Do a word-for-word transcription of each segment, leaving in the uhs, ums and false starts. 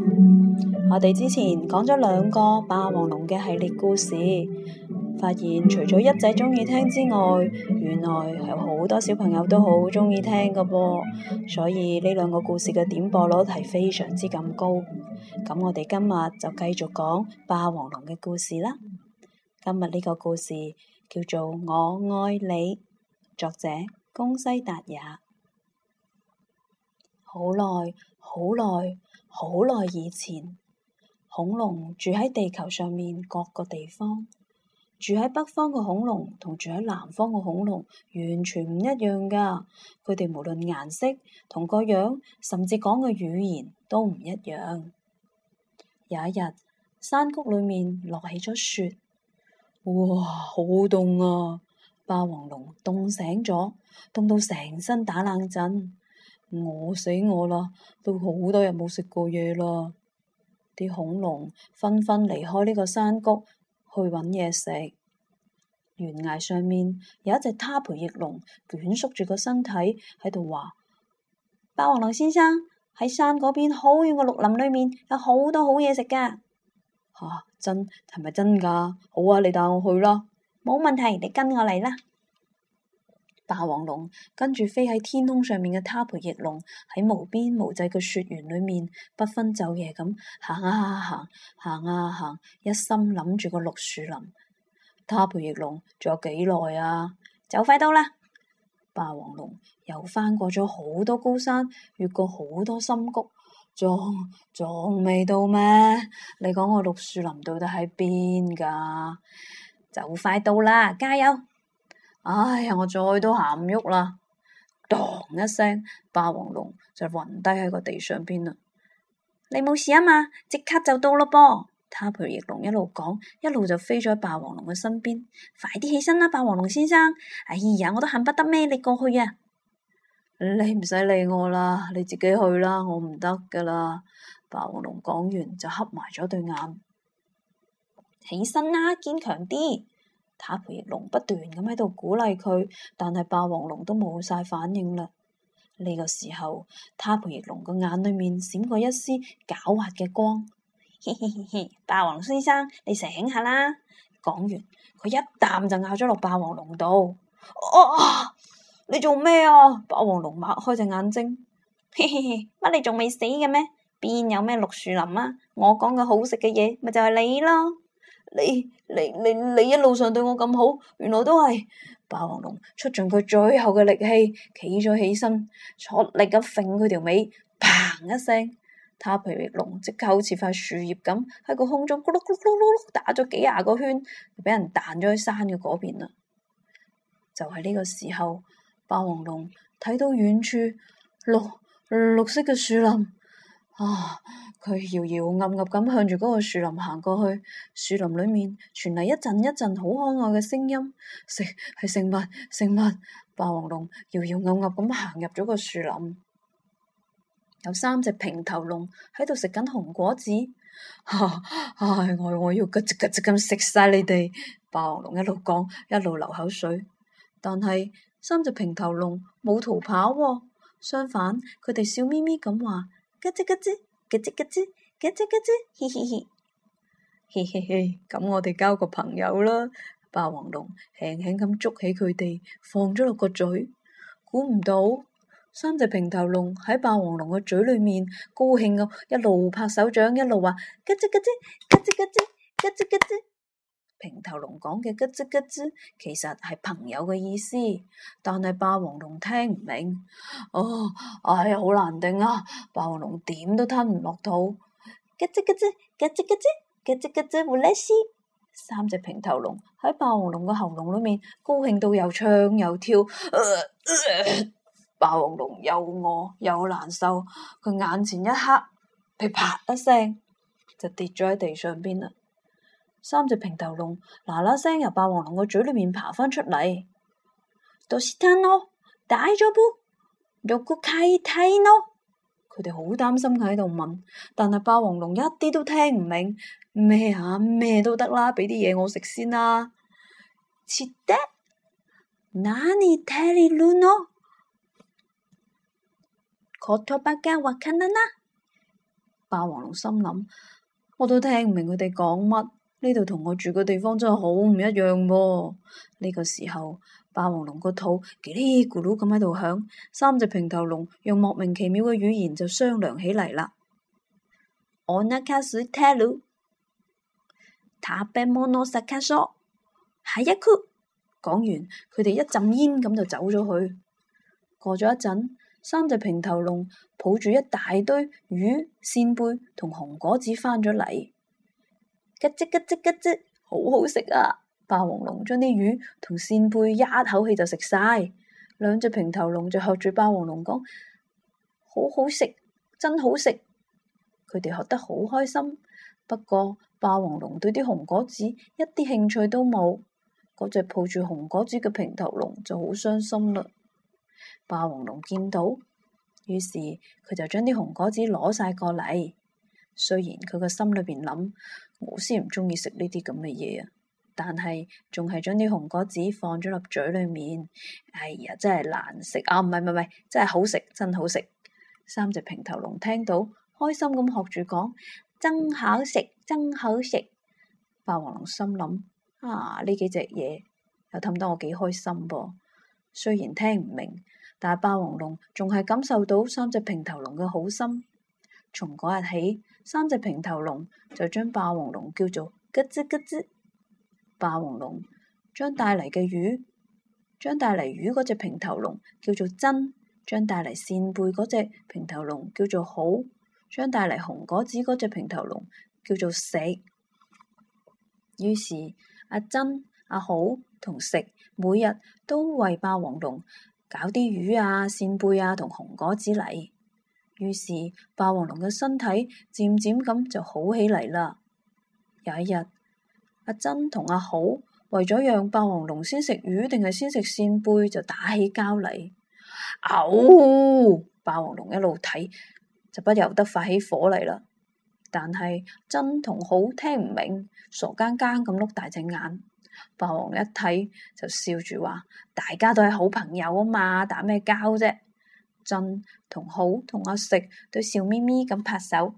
我哋之前講咗兩個霸王龍嘅系列故事，發現除咗一仔中意聽之外，原來有好多小朋友都好中意聽㗎噃，所以呢兩個故事嘅點播率係非常之咁高。咁我哋今日就繼續講霸王龍嘅故事啦。今日呢個故事叫做《我愛你》，作者宮西達也。好耐好耐好耐以前，恐龍住喺地球上面各個地方。住喺北方嘅恐龍同住喺南方嘅恐龍完全唔一樣噶，佢哋無論顏色同個樣，甚至講嘅語言都唔一樣。有一日，山谷裏面落起咗雪，哇，好凍啊！霸王龍凍醒咗，凍到成身打冷震。餓死我啦！都好多日冇食過嘢啦。啲恐龍紛紛離開呢個山谷去揾嘢食。懸崖上面有一隻他培翼龍捲縮住個身體喺度話：霸王龍先生，喺山嗰邊好遠嘅綠林裏面有好多好嘢食噶。吓、啊，真係咪真噶？好啊，你帶我去啦。冇問題，你跟我嚟啦。霸王龍跟住飛喺天空上面嘅他培翼龍喺無邊無際嘅雪原裏面不分晝夜咁行啊行，行啊行，一心諗住個綠樹林。他培翼龍仲有幾耐啊？就快到啦！霸王龍又翻過咗好多高山，越過好多深谷，仲仲未到咩？你講個綠樹林到底喺邊噶？就快到啦，加油！哎呀，我再都行唔喐啦！當一聲，霸王龍就暈低喺個地上邊啦。你冇事啊嘛？即刻就到咯噃！他培翼龍一路講，一路就飛咗喺霸王龍嘅身邊。快啲起身啦，霸王龍先生！哎呀，我都恨不得孭你過去啊！你唔使理我啦，你自己去啦，我唔得噶啦！霸王龍講完就合埋咗對眼。起身啦，堅強啲！他培翼龍不斷咁喺度鼓勵佢，但係霸王龍都冇晒反應啦。呢個時候，他培翼龍個眼裏面閃過一絲狡猾嘅光。嘻嘻嘻嘻，霸王龍先生，你醒下啦！講完，佢一啖就咬咗落霸王龍度。啊！你做咩啊？霸王龍擘開隻眼睛。嘻嘻嘻，乜你仲未死嘅咩？邊有咩綠樹林啊？我講嘅好食嘅嘢，咪就係你咯。你你你你一路上對我咁好，原來都係。霸王龍出盡佢最後嘅力氣，企咗起身，出力咁揈佢條尾，砰一聲，他培翼龍即刻好似塊樹葉咁喺個空中咕嚕咕嚕咕嚕打咗幾廿個圈，就俾人彈咗去山嘅嗰邊啦。就喺呢個時候，霸王龍睇到遠處綠綠色嘅樹林。啊！佢搖搖岌岌咁向住嗰個樹林行過去，樹林裏面傳嚟一陣一陣好可愛嘅聲音，食係食物食物。霸王龍搖搖岌岌咁行入咗個樹林，有三隻平頭龍喺度食緊紅果子。唉、啊哎，我我要咯吱咯吱咁食晒你哋！霸王龍一路講一路流口水，但係三隻平頭龍冇逃跑喎，相反佢哋笑眯眯咁話。咯吱咯吱，咯吱咯吱，咯吱咯吱，嘻嘻嘻，嘻嘻嘻，咁我哋交個朋友啦。霸王龍輕輕咁捉起佢哋，放咗落個嘴。估唔到，三隻平頭龍喺霸王龍嘅嘴裏面高興咁一路拍手掌，一路話咯吱咯吱，咯吱咯吱，咯吱咯吱。平頭龍講嘅咯吱咯吱，其實係朋友嘅意思，但係霸王龍聽唔明。哦，哎呀，好難頂啊！霸王龍點都吞唔落肚。咯吱咯吱，咯吱咯吱，咯吱咯吱，胡叻斯。三隻平頭龍喺霸王龍嘅喉嚨裏面高興到又唱又跳。呃呃、霸王龍又餓又難受，佢眼前一黑，噼啪一聲就跌咗喺地上邊啦。三隻平頭龍嗱嗱聲由霸王龍個嘴裏面爬返出嚟。どうしたの？大丈夫？どこか痛いの？佢哋好擔心佢喺度問，但係霸王龍一啲都聽唔明。咩啊？咩都得啦，俾啲嘢我食先啦。切得？何食べるの？言葉がわからない。 霸王龍心諗，我都聽唔明佢哋講乜，呢度同我住嘅地方真係好唔一樣噃。呢個時候，霸王龍個肚嘰哩咕嚕咁喺度響，三隻平頭龍用莫名其妙嘅語言就商量起嚟啦。我那卡斯泰魯，塔貝莫諾薩卡索，下一曲。講完，佢哋一陣煙咁就走咗去。過咗一陣，三隻平頭龍抱住一大堆魚、扇貝同紅果子返咗嚟。吉吱吉吱吉吱，好好食啊！霸王龍將啲魚同扇貝一口氣就食晒。兩隻平頭龍就學住霸王龍講：好好食，真好食。佢哋學得好開心。不過霸王龍對啲紅果子一啲興趣都冇。嗰隻抱住紅果子嘅平頭龍就好傷心啦。霸王龍見到，於是佢就將啲紅果子攞晒過嚟。雖然佢個心裏邊諗，我先唔中意食呢啲咁嘅嘢啊，但係仲係將啲紅果子放咗入嘴裏面。哎呀，真係難食啊！唔係唔係唔係，真係好食，真好食。三隻平頭龍聽到，開心咁學住講：真好食，真好食。霸王龍心諗：啊，呢幾隻嘢又氹得我幾開心噃。雖然聽唔明，但係霸王龍仲係感受到三隻平頭龍嘅好心。從嗰日起，三隻平頭龍就將霸王龍叫做咯吱咯吱。霸王龍將帶嚟嘅魚，將帶嚟魚嗰隻平頭龍叫做真，將帶嚟扇貝嗰隻平頭龍叫做好，將帶嚟紅果子嗰隻平頭龍叫做食。於是阿真、阿好同食每日都為霸王龍搞啲魚啊、扇貝啊同紅果子嚟。於是霸王龍嘅身體漸漸咁就好起嚟啦。有一日，阿真同阿好為咗讓霸王龍先食魚定係先食扇貝就打起交嚟。嗷！霸王龍一路睇就不由得發起火嚟啦。但係真同好聽唔明，傻更更咁碌大隻眼。霸王龍一睇就笑住話：大家都係好朋友啊嘛，打咩交啫？真同好同阿食都笑眯眯咁拍手。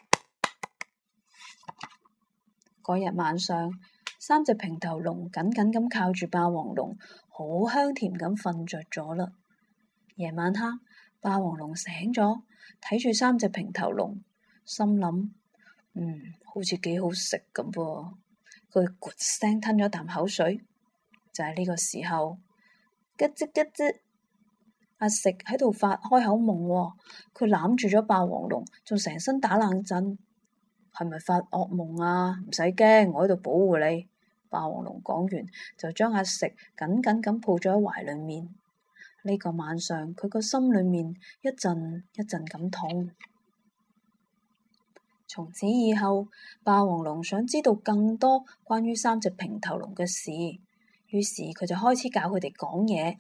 嗰日晚上，三隻平頭龍緊緊咁靠住霸王龍，好香甜咁瞓着咗啦。夜晚黑，霸王龍醒咗，睇住三隻平頭龍，心諗：嗯，好似幾好食咁噃。佢咕聲吞咗啖口水。就喺呢個時候，咯吱咯吱，阿食喺度發開口夢喎。佢攬住咗霸王龍，仲成身打冷震。係咪發惡夢啊？唔使驚，我喺度保護你。霸王龍講完，就將阿食緊緊咁抱咗喺懷裏面。呢個晚上，佢個心裏面一陣一陣咁痛。從此以後，霸王龍想知道更多關於三隻平頭龍嘅事，於是佢就開始教佢哋講嘢。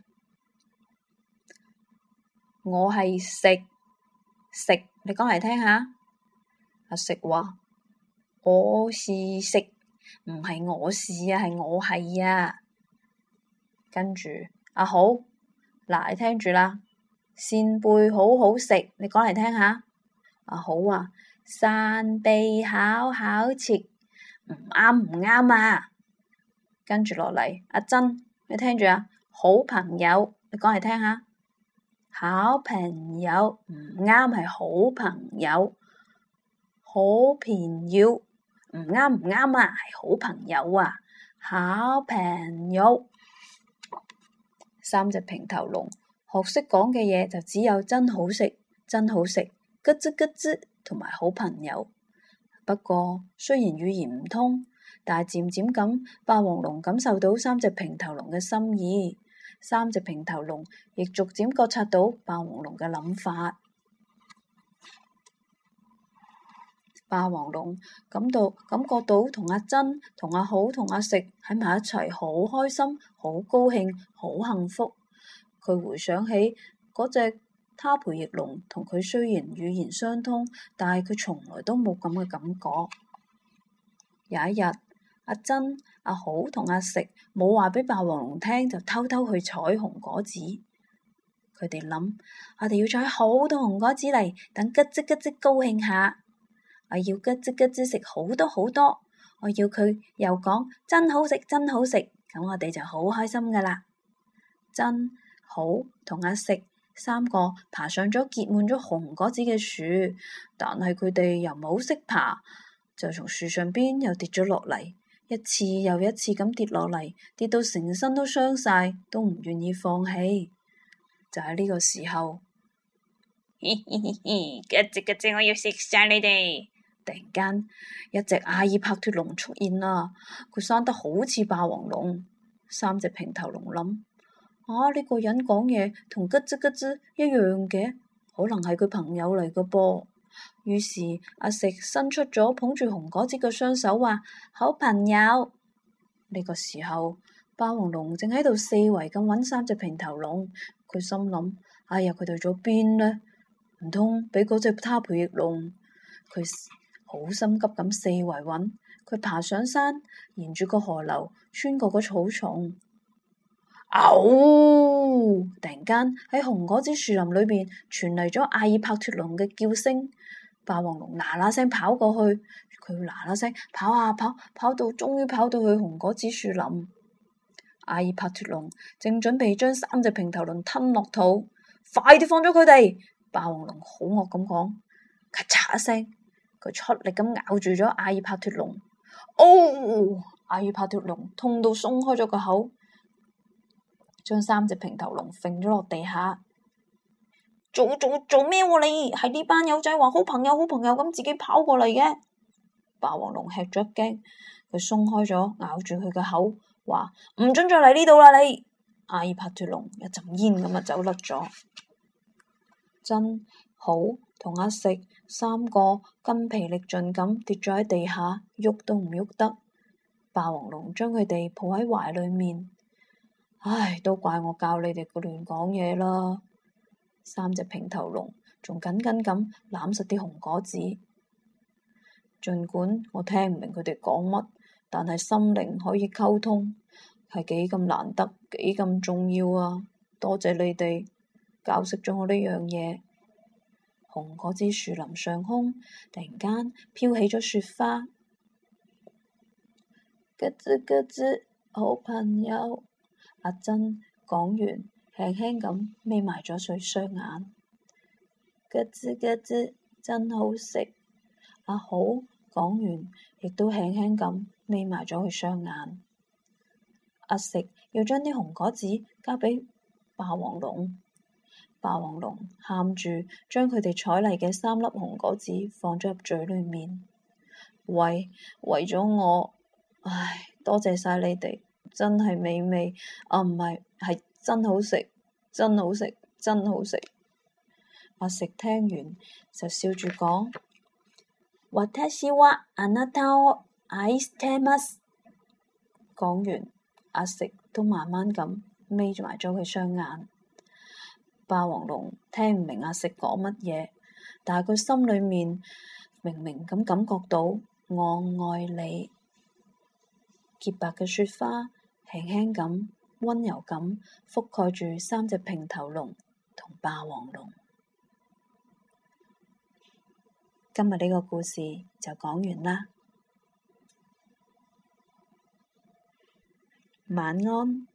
我係食食，你講嚟聽下。阿食話：我是食，唔係我是啊，係我係啊。跟住阿好，嗱，你聽住啦。扇貝好好食，你講嚟聽下。阿好話：扇貝好好食，唔啱唔啱啊。跟住落嚟，阿真，你聽住啊。好朋友，你講嚟聽下。好朋友唔啱，係好朋友。好朋友唔啱唔啱啊，係好朋友啊。好朋友。三隻平頭龍學識講嘅嘢就只有真好食、真好食、咯吱咯吱同埋好朋友。不過雖然語言唔通，但係漸漸咁，霸王龍感受到三隻平頭龍嘅心意。三隻平頭龍亦逐漸覺察到霸王龍嘅諗法。霸王龍感到感覺到同阿真、同阿好、同阿食喺埋一齊，好開心、好高興、好幸福。佢回想起嗰隻他培翼龍，同佢雖然語言相通，但係佢從來都冇咁嘅感覺。有一日，阿真、阿好同阿食冇話俾霸王龍聽，就偷偷去採紅果子。佢哋諗：我哋要採好多紅果子嚟，等咯吱咯吱高興下。 我要咯吱咯吱食好多好多，我要佢又講真好食真好食，咁我哋就好開心噶啦。真好同阿食三個爬上咗結滿咗紅果子嘅樹，但係佢哋又冇識爬，就從樹上邊又跌咗落嚟，一次又一次咁跌落嚟，跌到成身都傷晒，都唔願意放棄。就喺呢個時候， 嘻嘻嘻嘻，咯吱咯吱，我要食晒你哋！ 突然間，一隻阿爾帕脫龍出現啦，佢生得好似霸王龍。三隻平頭龍諗：啊，呢個人講嘢同咯吱咯吱一樣嘅，可能係佢朋友嚟嘅噃。於是阿食伸出咗捧住紅果子嘅雙手，話：好朋友。呢個時候，霸王龍正喺度四圍咁揾三隻平頭龍，佢心諗：哎呀，佢哋去咗邊呢？唔通俾嗰隻他培翼龍？佢好心急咁四圍揾，佢爬上山，沿住個河流，穿過個草叢。嗷！突然間喺紅果子樹林裏邊傳嚟咗阿爾帕脫龍嘅叫聲。霸王龍嗱嗱聲跑過去，佢嗱嗱聲跑啊跑，跑到終於跑到去紅果子樹林。阿爾帕脫龍正準備將三隻平頭龍吞落肚，快啲放咗佢哋！霸王龍好惡咁講，咔嚓一聲，佢出力咁咬住咗阿爾帕脫龍。哦！阿爾帕脫龍痛到鬆開咗個口，將三隻平頭龍揈咗落地下。做做做咩喎你？係呢班友仔話好朋友好朋友咁自己跑過嚟嘅。霸王龍吃咗一驚，佢鬆開咗咬住佢嘅口，話唔准再嚟呢度啦你！阿爾帕脫龍一陣煙咁啊走甩咗。真好同阿食三個筋疲力盡咁跌咗喺地下，喐都唔喐得。霸王龍將佢哋抱喺懷裏面，唉，都怪我教你哋個亂講嘢啦。三隻平頭龍仲緊緊咁攬實啲紅果子，儘管我聽唔明佢哋講乜，但係心靈可以溝通，係幾咁難得，幾咁重要啊！多謝你哋教識咗我呢樣嘢。紅果子樹林上空突然間飄起咗雪花，咯吱咯吱，好朋友。阿珍講完，輕輕咁眯埋咗佢雙眼。咯吱咯吱，真好食。阿好講完，亦都輕輕咁眯埋咗佢雙眼。阿食要將啲紅果子交俾霸王龍。霸王龍喊住將佢哋採嚟嘅三粒紅果子放咗入嘴裏面，喂，為咗我，唉，多謝晒你哋，真係美味，啊唔係，係真好食，真好食，真好食。阿食聽完就笑住講：私はあなたを愛してます。講完，阿食都慢慢咁眯住埋咗佢雙眼。霸王龍聽唔明阿食講乜嘢，但係佢心裏面明明咁感覺到我愛你。潔白嘅雪花輕輕咁溫柔咁覆蓋住三隻平頭龍同霸王龍。今日呢個故事就講完啦，晚安。